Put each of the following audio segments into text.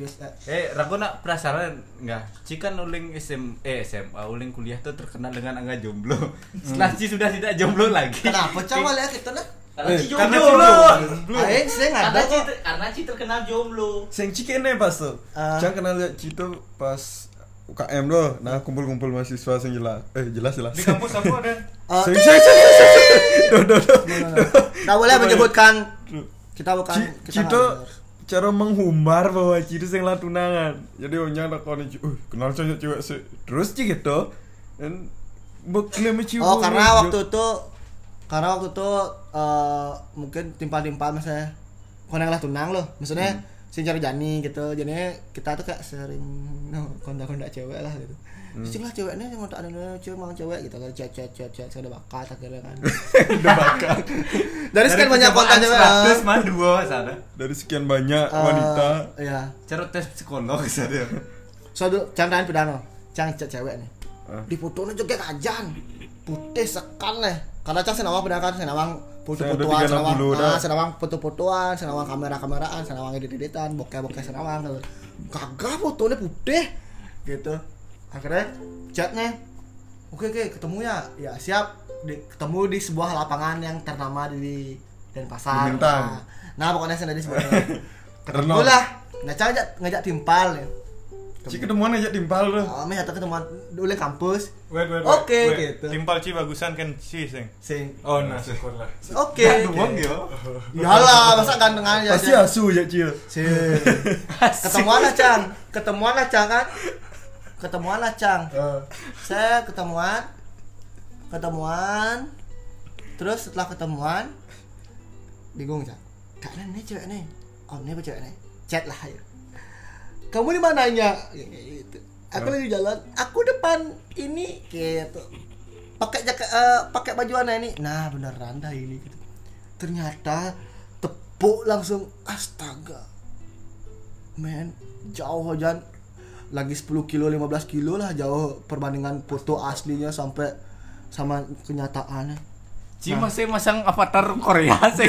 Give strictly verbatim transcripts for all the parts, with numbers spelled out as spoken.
Eh, Rago nak penasaran enggak? Ci kan uling S M eh S M A uling kuliah tuh terkenal dengan angka jomblo. Setelah Ci sudah tidak jomblo lagi. Kenapa cawal ya kita nah? Karena Ci Karena jomblo. Aing sing ada Karena Ci kok. karena Ci terkenal jomblo. Sing Ci kene pas tuh. Ah. Jangan kenal lihat Ci tuh pas U K M doh. Nah, kumpul-kumpul mahasiswa sing jelas. Eh, jelas-jelas. Di kampus aku ada. Eh, Sing sing sing. Duh, duh, duh. Enggak boleh menyebutkan kita bukan Ci- kita Cito cara menghumbar bahwa Ci itu sing lah tunangan. Jadi onyang takoni, "Uh, kenal cewek cewek sih." Terus Ci gitu. Dan bukan Ci. Oh, karena waktu itu karena waktu itu eh, mungkin timpal-timpal misalnya koneng lah tunang loh. Maksudnya hmm. sing cari jani gitu. Jadinya kita tuh kayak sering no, kontak-kontak cewek lah gitu. Hmm. Sing lah ceweknya yang tak ada cewek mau cewek gitu kan. Chat chat chat chat ada bakat akhirnya kan. udah bakal. Dari sekian banyak kontak cewek. seratus mah dua sana. Dari sekian banyak Eh, wanita. Iya. Cara tes psikolog sana. Soalnya candain pidano, cang chat cewek nih. Ah. Di fotonya juga kajan. Putih sekal leh. Karena cang senawang pedang kan senawang foto-fotoan, Saya ada senawang tiga enam puluh ah, dah. senawang foto-fotoan, senawang kamera-kameraan, senawang edit-editan, bokeh-bokeh senawang gitu. Kagak fotonya putih gitu. Akhirnya chatnya oke oke ketemu ya ya siap di, ketemu di sebuah lapangan yang ternama di Denpasar. Bintang. Nah, nah pokoknya sana di sebuah ketemu Renon. lah ngajak ngajak ngajak timpal ya. Ci ketemuan aja timpal tuh. Oh, meh atau ketemuan dulu kampus. Wait, wait, wait. Oke, wait. gitu. Timpal Ci bagusan kan Ci sing. Sing. Oh, nah syukurlah. Oke. Doang ya. Iyalah, masa gantengan aja. Pasti asu ya Ci. Sing. Ketemuan lah, Cang. Ketemuan lah, Cang kan. Ketemuan lah, Cang. Saya ketemuan. Ketemuan. Terus setelah ketemuan bingung, Cang. Kayaknya nih cewek nih. Oh, ini apa cewek nih? Chat lah ayo. Kamu di mananya? Gitu. Aku lagi jalan. Aku depan ini gitu. Pakai jaket uh, pakai baju warna ini. Nah, beneran dah ini gitu. Ternyata tepuk langsung astaga. Men, jauh aja. Lagi sepuluh kilo, lima belas kilo lah jauh perbandingan foto aslinya sampai sama kenyataannya. Ci masih masang avatar Korea sih.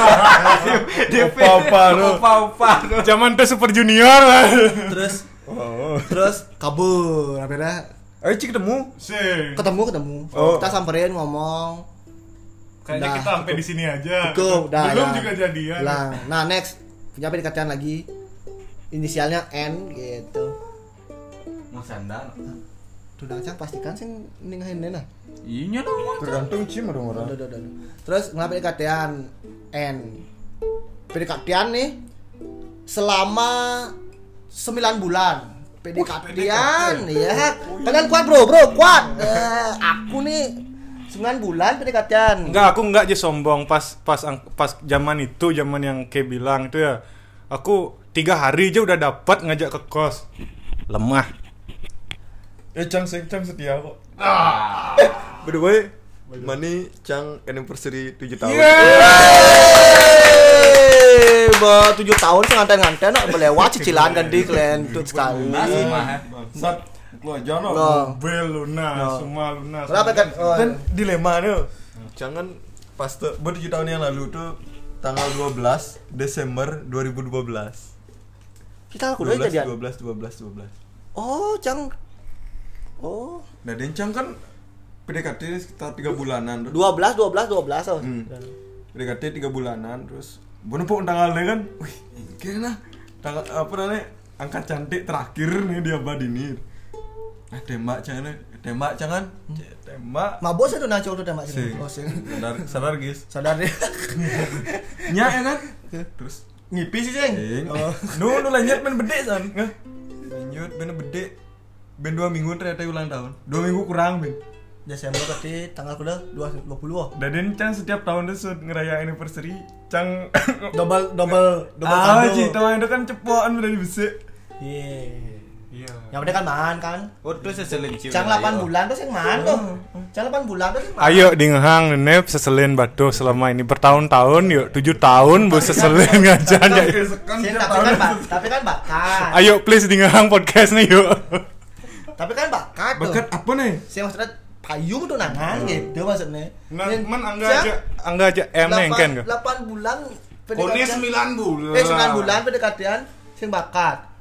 Opa-opa lu. Opa-opa lu. Zaman tuh Super Junior lah. Terus Oh. terus kabur akhirnya Ayo Ci ketemu. Sing. ketemu ketemu Oh. kita samperin ngomong Kayaknya Udah, kita sampai di sini aja. cukup dah Belum ya. juga jadian. Lah, nah next punya pendekatan lagi inisialnya N gitu. Mau sandal. Tuh dah Cang pastikan sing ningahin nah. Iya dong. Tergantung Ci mah dong orang. Aduh, aduh, aduh. Terus ngapa pendekatan N? Pendekatan nih selama sembilan bulan. Pendekatan ya. Kalian kuat bro, bro kuat. Eh, aku nih sembilan bulan pendekatan. Enggak, aku enggak aja sombong pas pas pas zaman itu, zaman yang kayak bilang itu ya. Aku tiga hari aja udah dapat ngajak ke kos. Lemah. Eh Cang sing Cang setia kok. By the way, Mani Cang anniversary tujuh tahun. Yeay, bah tujuh tahun sih nganten-nganten no, melewat cicilan ganti kelentut sekali. Masih mah. Sat lu aja no. No. Mobil lunas, No. semua lunas. Kenapa kan? Oh, Dan dilema nih. Jangan pas tuh tujuh tahun yang lalu tuh tanggal dua belas Desember dua ribu dua belas. kita aku dua udah belas jadian. dua belas dua belas dua belas. Oh, Cang. Oh, Nah, dan Cang kan P D K T sekitar tiga bulanan tuh. dua belas dua belas dua belas oh. Hmm. P D K T tiga bulanan terus bener pun tanggalnya kan. Wih, kayaknya tanggal apa namanya? Angka cantik terakhir nih dia badinir. Nah, tembak jangan tembak jangan tembak. Mabos itu naco tuh tembak Sing. sini. Oh, sing. Sadar sadar guys. Sadar deh. Nya ya kan? Terus Ngipi sih, Ceng. Ing. Nu nu lanjut ben bede san. Ngah. Lanjut ben bede. Ben dua minggu ternyata ulang tahun. Dua minggu kurang ben. Desember berarti tanggal kuda dua puluh oh. Dan Cang setiap tahun tuh ngeraya anniversary, Cang Double double double ah, kado. Ci, tahun itu kan cepokan udah dibesek. Iya. Iya. Yang penting kan man kan. Oh, terus seselin Ci. Cang delapan bulan tuh sing man tuh. Cang delapan bulan tuh sing man. Ayo dingehang nenep seselin batu selama ini bertahun-tahun yuk tujuh tahun bu seselin ngajan ya. Sing, tapi kan Pak, tapi kan bakat. Ayo please dingehang podcast nih yuk. Tapi kan bakat tuh. Bakat apa nih? Sing maksudnya payung tuh nangan gitu maksudnya. Nah, Yang- men angga Cang, aja angga aja em neng kan delapan bulan Kone sembilan bulan. Eh sembilan bulan pendekatan sing bakat.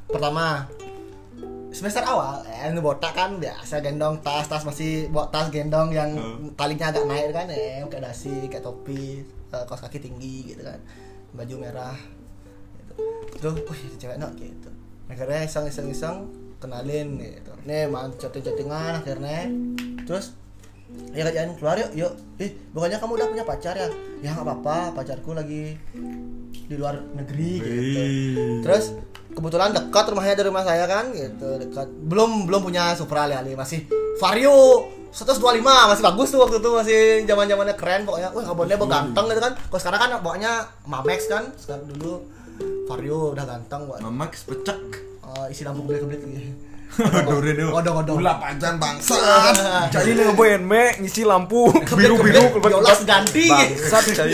pertama semester awal eh ini botak kan biasa gendong tas tas masih bawa tas gendong yang talinya agak naik kan eh kayak dasi kayak topi uh, kaos kaki tinggi gitu kan baju merah gitu. Tuh wih cewek nak gitu akhirnya iseng iseng iseng kenalin gitu nih man chatting chattingan akhirnya terus ya kerjaan keluar yuk yuk eh bukannya kamu udah punya pacar ya ya nggak apa-apa pacarku lagi di luar negeri gitu terus kebetulan dekat rumahnya dari rumah saya kan gitu dekat belum belum punya Supra ali masih Vario seratus dua puluh lima masih bagus tuh waktu itu masih zaman zamannya keren pokoknya wah kabonnya ganteng gitu kan kalau sekarang kan bawanya Mamex kan sekarang dulu Vario udah ganteng buat Mamex pecek uh, isi lampu gede-gede gitu dore deh odong-odong ulah panjang bangsat Cai ngeboyen me ngisi lampu biru-biru biolas ganti bangsat cai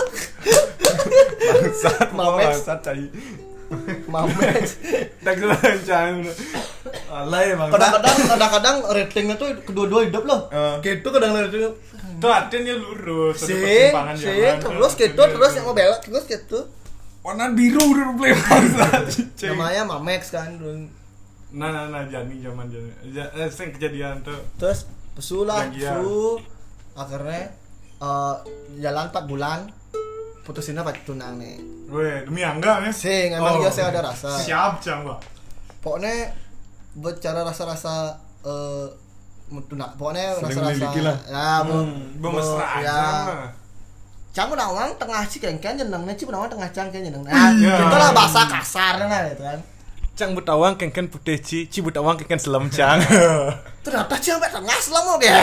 bangsat Mamex. bangsat cai Mamex tak lancar alay bangsat kadang-kadang kadang-kadang ratingnya tuh kedua-dua hidup loh Eh. gitu kadang ratingnya Tuh artinya lurus. ada sih persimpangan sih jalan. terus gitu terus yang mau belok terus gitu warna biru udah play bangsat namanya Mamex kan Nah, nah, nah, jani zaman jani. Ja, eh, sing kejadian tuh. terus pesulah Janjian. pesu akhirnya eh, jalan empat bulan putusinnya pakai tunang nih Weh, demi angga ya. sing emang dia saya ada rasa Siap, Cang, Pak. pokoknya bicara rasa-rasa eh tunang pokoknya Sering rasa-rasa memiliki lah. ya bu, Hmm, Bemesraan. ya Ya. cang udah orang tengah sih kengken jenengnya sih udah tengah cang kengken jeneng nah Iya. itulah bahasa kasarnya kan gitu kan Cang butawang kengken putih ci, ci butawang kengken selam Cang. ternyata sih sampai tengah selama ya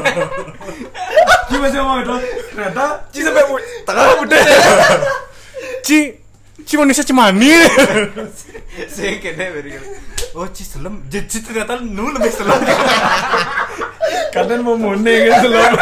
Ci masih mau itu ternyata Ci sampai mu- tengah putih. Ci, ci manusia cemani. Sing kene beri. Oh, ci selem. Ci ternyata nu lebih selem. kadang mau mone kan selalu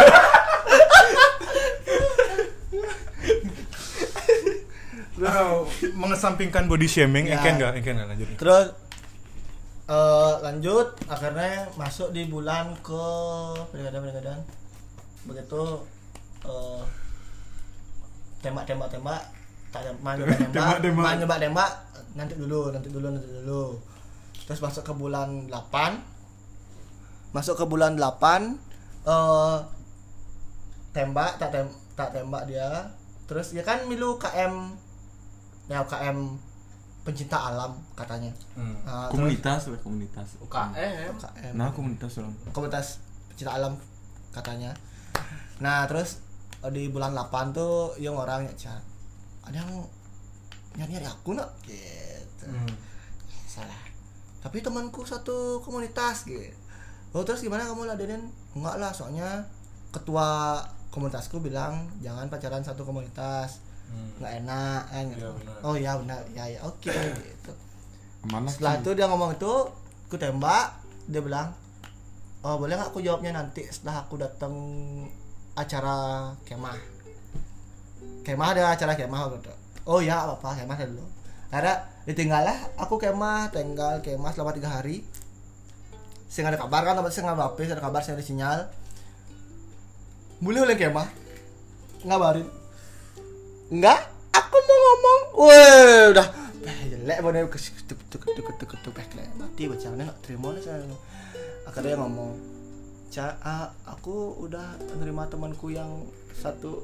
Nah, mengesampingkan body shaming, Ya. engken enggak? Engken enggak lanjut. terus eh, lanjut akhirnya masuk di bulan ke pergadang-pergadang begitu eh, tembak-tembak tembak tak tembak nyoba tembak Tembak-tembak. main nyoba tembak nanti dulu nanti dulu nanti dulu terus masuk ke bulan delapan masuk ke bulan delapan eh tembak tak tem tak tembak dia terus ya kan milu K M ya K M pencinta alam katanya. Hmm. Nah, komunitas lah komunitas U K M. terus K M nah komunitas orang komunitas pencinta alam katanya. Nah terus eh, di bulan delapan tuh yang orang chat ada yang nyari nyari aku nak gitu. Hmm. Salah tapi temanku satu komunitas gitu. Oh terus gimana kamu ladenin? Enggak lah soalnya ketua komunitasku bilang jangan pacaran satu komunitas Hmm. nggak enak kan gitu. Iya, benar. Oh ya benar ya ya oke gitu. mana Setelah itu dia ngomong itu aku tembak dia bilang oh boleh nggak aku jawabnya nanti setelah aku datang acara kemah kemah ada acara kemah gitu. Oh ya apa apa kemah dulu ada ditinggal lah aku kemah tinggal kemah selama tiga hari saya nggak ada kabar kan tapi saya nggak apa ada kabar saya ada sinyal boleh oleh kemah ngabarin enggak aku mau ngomong weh udah eh, jelek banget ketuk ketuk ketuk ketuk ketuk ketuk mati baca mana nggak terima lah saya akhirnya dia ngomong Ca, ah, aku udah menerima temanku yang satu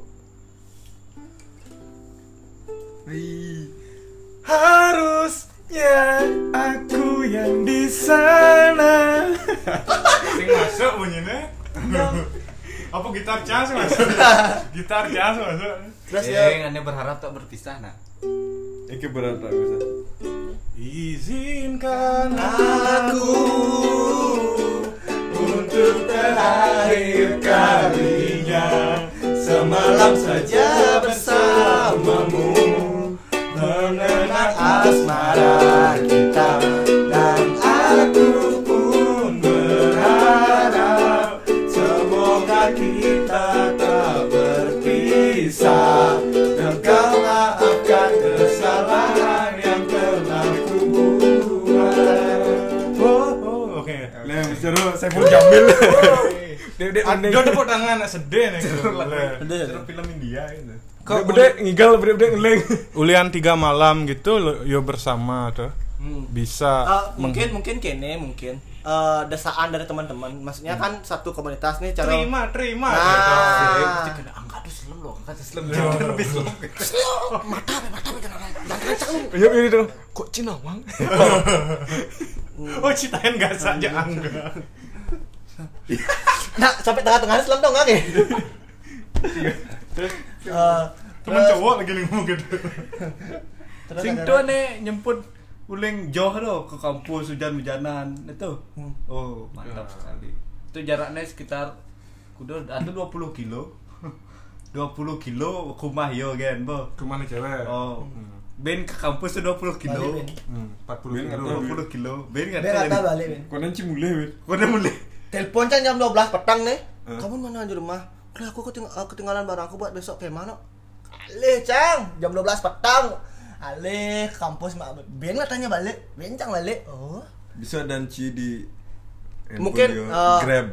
harusnya aku yang di sana. Sing masuk bunyinya. Apa gitar jazz masuk? Gitar jazz masuk. terus Sing ya ane berharap tak berpisah nah. Iki berat tak bisa. Izinkan aku untuk terakhir kalinya semalam saja bersamamu mengenang asmara kita dan aku pun berharap semoga kita tak berpisah dan kau maafkan kesalahan yang telah kubuat. Oh, oh, oke. Lah, seru Saiful Jamil. Dek-dek Ada tepuk tangan nak sedih nih. Sedih. Film India itu. Kok bedek ngigal bedek-bedek ngeleng. Ulian tiga malam gitu lo- yo bersama tuh. Hmm. bisa Uh, mungkin meng- mungkin kene mungkin uh, desaan dari teman-teman. Maksudnya kan satu komunitas nih cara terima terima Nah. gitu. Mesti kena angkat tuh selem loh, angkat tuh selem. Jangan lebih selem. mata be mata be jangan jangan kencang lu. Iya ini tuh. Kok Cina bang? Oh citain gak saja angga. Nah, sampai tengah-tengah selem dong enggak Terus uh, Temen cowok lagi nih ngomong gitu. terus Sing ada- tuh nih nyemput uling jauh loh ke kampus hujan-hujanan itu. Hmm. Oh, mantap sekali. Itu jaraknya sekitar kudu ada dua puluh kilo. dua puluh kilo rumah yo kan, Bo. Kemana cewek? Oh. Ben ke kampus tuh dua puluh kilo. Balik, Ben. Hmm, empat puluh Ben kilo. nggak dua puluh kilo. Ben enggak Ben kata balik Ben. Kau nanti mulai weh. Udah mulai. Telepon kan jam dua belas petang nih. Eh. Kamu mana di rumah? Lah aku keting- uh, ketinggalan barang aku buat besok kayak mana? Alih, Cang. Jam dua belas petang. Alih, kampus mak. Ben nggak tanya balik. Ben Cang balik. Oh. Bisa danci di Mungkin, handphone dia. uh, Grab.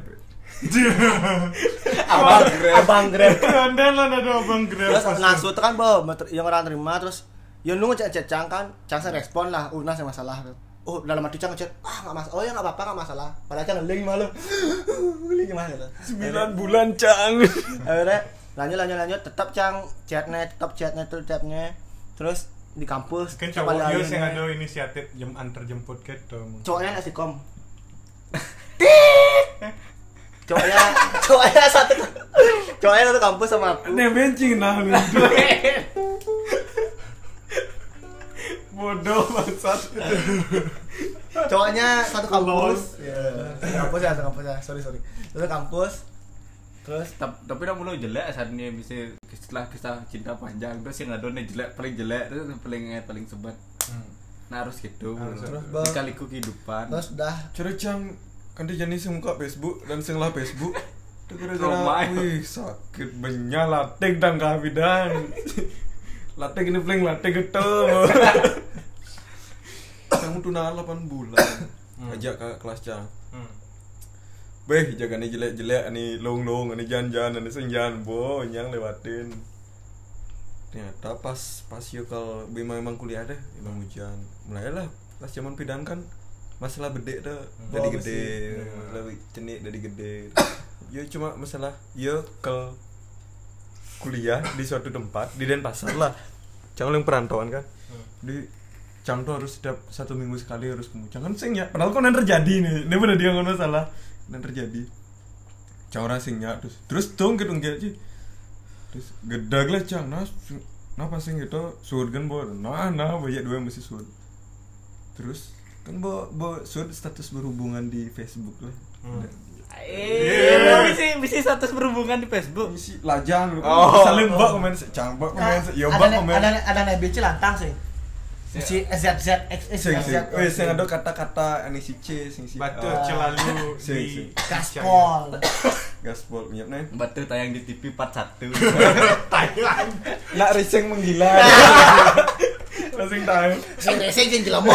Abang Grab. Abang Grab. Keren lah ada abang grab. Terus ngasuh kan, Bo, meter- yang orang terima terus ya nunggu chat Cang kan. Cang saya respon lah. Uh, nah saya masalah. Oh, dalam hati Cang ngechat. Ah, enggak masalah. Oh, ya enggak apa-apa, enggak masalah. Padahal Cang ngeling malu. Ngeling gimana gitu. Sembilan bulan Cang. Akhirnya lanjut lanjut lanjut tetap Cang chatnya tetap chatnya tuh chatnya terus di kampus Kan coba cowok lain- Yus yang ada inisiatif jam antar jemput gitu. cowoknya nasi kom cowoknya cowoknya satu cowoknya satu kampus sama aku Nih bencing nah. Bodoh bangsat. cowoknya satu kampus ya kampus ya satu kampus ya sorry sorry satu kampus terus Tap- tapi udah mulai jelek saat ini bisa setelah kisah cinta panjang terus yang ada nih jelek paling jelek terus paling paling sebat. Nah harus gitu. terus, Dikaliku kehidupan. terus udah Cara Cang kan dia jenis muka Facebook dan sing lah Facebook. Itu Romai. gara-gara wih sakit banyak latek dan kabidan. Latek ini paling latek gitu. Kamu tunangan delapan bulan. Ajak ke kelas Cang. Hmm. Beh, jaga nih jelek-jelek, nih long-long, nih jalan-jalan, nih senjan, bo, nyang lewatin. Ternyata pas pas yo kalau bima emang kuliah deh, emang hujan. Mulailah pas zaman pidan kan masalah bedek dah, jadi gede, lebih cenik jadi gede. Yo cuma masalah yo ke kuliah di suatu tempat di Denpasar lah. Cang yang perantauan kan. Di Cang tuh harus setiap satu minggu sekali harus ke Cang kan sing ya. Padahal kok yang terjadi nih, ini bener dia ngono salah. Dan terjadi Cang orang singnya terus terus dong gitu nggak sih terus gedag lah Cang nah su- nah pas sing gitu sud kan bo nah nah banyak dua mesti sud terus kan bo bo sud status berhubungan di Facebook lah Eh, bisa bisa status berhubungan di Facebook. isi lajang gitu Oh. saling mbak komen se- Cang mbak komen se- yo ada mbak ne- komen ada ne- ada nabi lantang sih si Z Z X sing Z sing wes sing ada kata-kata ini si C sing si Batu A. celalu Sing, di sing. gaspol gaspol minyak nih Batu tayang di T V part satu. Thailand. nak riseng menggila langsung tahu sing racing sing jelemo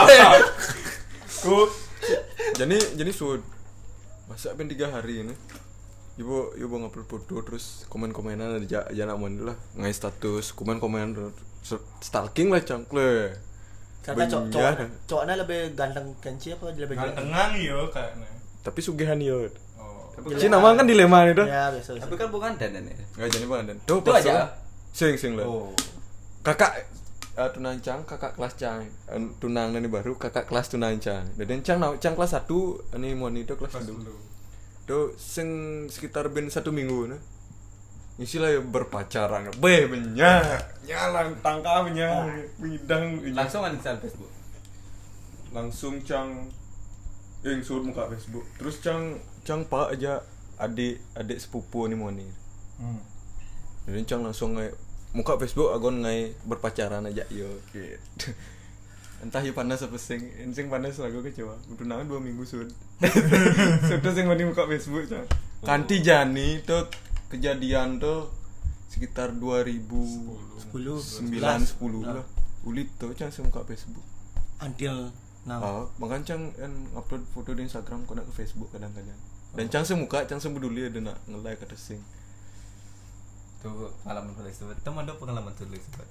ku jadi jadi sud masa ben tiga hari ini ibu ibu ngupload foto terus komen komenan aja aja nak lah ngai status komen komen stalking lah cangkle kata cowok Banyak. cowok cowoknya lebih ganteng kenci apa lebih jelek Gantengan yo kayaknya. tapi sugihan yo Oh. si nama kan dilema itu ya biasa biasa. Tapi kan bukan dan ini. nggak jadi banget tuh Itu pas aja. lah. sing sing lah Oh. kakak uh, tunang cang kakak kelas cang uh, tunang ini baru kakak kelas tunang cang dan cang nau cang kelas satu ini mau itu kelas Pas satu dulu. tuh sing sekitar ben satu minggu nah isilah ya berpacaran beh banyak nyalang tangkapnya bidang Langsung uninstall Facebook. langsung cang yang suruh muka Facebook terus cang cang pak aja adik adik sepupu nih mau nih Hmm. jadi cang langsung ngai muka Facebook agon ngai berpacaran aja yo gitu entah ya panas apa sing sing panas lagu kecewa udah nang dua minggu sud sudah sing mandi muka Facebook cang kanti jani tuh kejadian tuh sekitar dua ribu sepuluh sembilan sepuluh lah ulit tuh cang sing muka Facebook until now ah makanya cang kan upload foto di Instagram kena ke Facebook kadang-kadang dan cang semuka cang sebeduli ada nak nge-like atau sing Tuh pengalaman paling sebat. Teman ada pengalaman tulis sebat.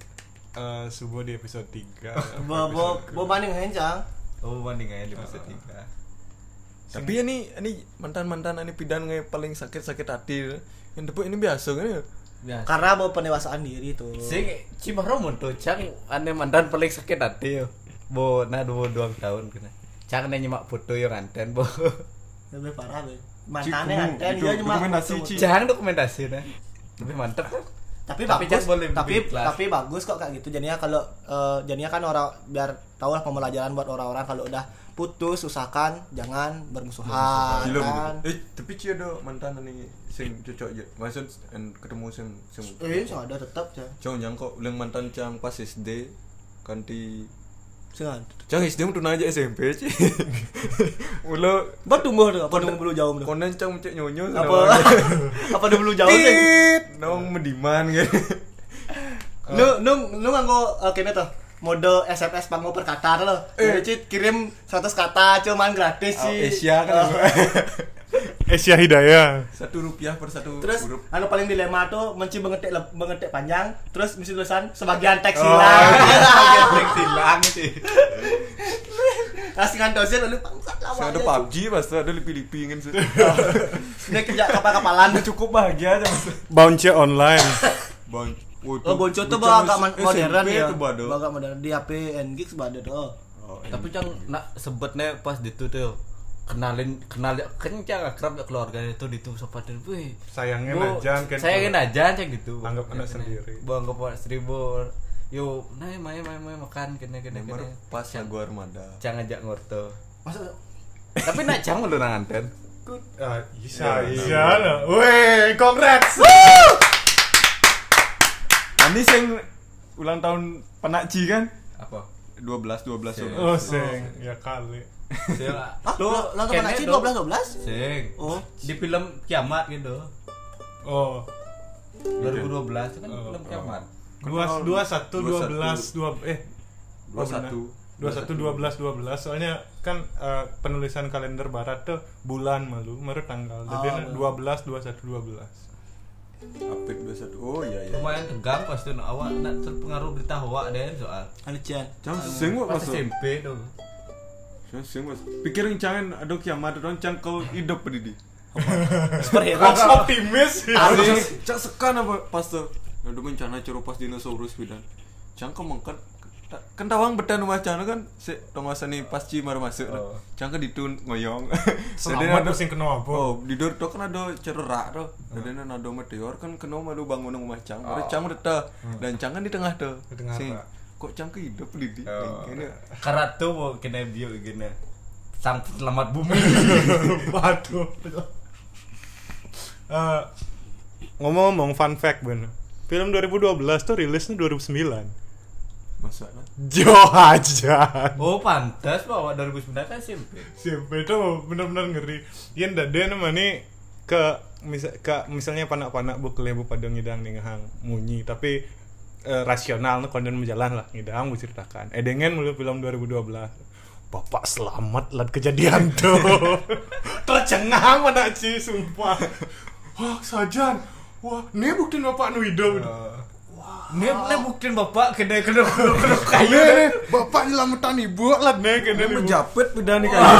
eh, subuh di episode tiga. Bo bo bo banding hencang. Oh, banding aja di episode tiga. Tapi ini ini mantan-mantan ini pidan nge paling sakit-sakit hati. Yang depo ini biasa kan ya? Biasa. Karena bawa pendewasaan diri tuh. Sing Cimaromo tuh cang ane mantan paling sakit hati yo. Bo na dua dua tahun kena. Cang ane nyemak foto yo nganten bo. Lebih parah be. Mantannya Cikumu, kan itu dia cuma dokumentasi, foto-foto. Ci. Jangan dokumentasi nah. Lebih mantep kan. Tapi, Tapi bagus jangan boleh tapi lebih kelas. tapi bagus kok kayak gitu. Jadinya kalau eh, jadinya kan orang biar tahu lah pembelajaran buat orang-orang kalau udah putus usahakan jangan bermusuhan Gila kan. begitu. Eh, tapi Ci ada mantan ini sing cocok je. Maksud en ketemu sing sing Eh, so ada tetap ya. Cang nyangko ulang mantan cang pas S D kanti Jangan. cang S D mu tunai aja S M P Ci. Ulo Buat tumbuh tuh, apa tumbuh bulu jauh tuh? konen cang mencek nyonyo Apa apa tumbuh bulu jauh sih? nong mediman gitu. Nu nu nu nganggo uh, kene tuh mode S M S panggo per kata lo. Jadi Cit kirim seratus kata cuman gratis Oh, sih. Asia kan. Asia Hidayah. Satu rupiah per satu Terus huruf. anu paling dilema tuh menci mengetik leb- mengetik panjang, terus misi tulisan sebagian teks Oh, hilang. bagian teks hilang sih. Kasih ngantosin lalu bangsat Saya lawan. ada P U B G pas tuh ada lipi-lipi kan sih. Dia kerja kapal-kapalan. Cukup bahagia aja mas. Bounce online. Bang. Oh, Bonco tuh bawa agak man- modern ya. Itu bado. Bawa agak modern di H P N G bado tuh. Tapi cang nak sebutnya pas itu tuh kenalin kenal kencang akrab ya keluarga itu itu sopatin wih Sayangnya Bu, najan kan. sayangin aja cang gitu Anggap anak sendiri. bu anggap anak seribu yo nah main main main makan kena kena Nomor kena pas ya gua armada. cang ajak ngorto Masa tapi nak cang lu nanganten Ah, bisa, iya lah. Weh, congrats. Ini sing ulang tahun penakji kan? apa dua belas dua belas. Sing. Oh, sing, ya kali. sing Ah, lu lo lo kene sih do- dua belas dua belas? sing Oh. di film kiamat gitu Oh, dua ribu dua belas itu kan Oh, film kiamat dua dua satu dua belas dua eh dua satu dua satu dua belas dua belas soalnya kan eh, penulisan kalender barat tuh bulan malu menurut tanggal jadi Oh, dua belas dua satu dua belas. Apik dua satu. Oh iya iya. lumayan tegang pas tuh awak nak terpengaruh berita hoak deh soal Alician. Cang sing pas what S M masuk. P tuh Cang sing what. Pikirin jangan ada kiamat dong cang kau hidup pedidi. Superhero. Optimis. Cang sekan apa pas tuh. Ada bencana curu pas dinosaurus bidan. Cang kau mengkat kan tawang betan rumah cang kan si tongasa nih pas ci baru masuk. Oh. Cang ke ditun ngoyong. Selamat tuh sing kena apa? Oh, di dor tuh kan ada cerak tuh. Dan ada meteor kan kena malu bangun rumah cang. Ada cang udah dan cang kan di tengah tuh. Di tengah Sing, apa? kok cang ke hidup di Oh. ini. karena tuh mau kena bio gini sang selamat bumi Waduh. Eh, ngomong-ngomong fun fact bener. Film dua ribu dua belas tuh rilisnya dua ribu sembilan. Masalah. Jo aja. oh pantas bahwa dua ribu sembilan kan S M P Siapa itu benar-benar ngeri. Yang dade nama nih ke misal ke misalnya panak-panak bu kelebu pada ngidang nih ngehang munyi tapi eh, rasional nih konten berjalan lah ngidang bu ceritakan. Edengen mulu film dua ribu dua belas. Bapak selamat lat kejadian tuh. Tercengang mana Ci sumpah. Wah sajan. Wah, ini bukti bapak nu hidup. ini ini buktiin bapak kena kena kena kena kayu Nih, bapak nyelamatin ibu lah nih kena Ini ibu. menjapit beda nih kan.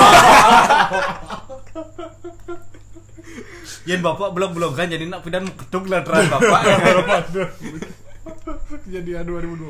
Yen bapak belum belum kan jadi nak pidan ketuk lah terang bapak Kejadian dua ribu dua belas.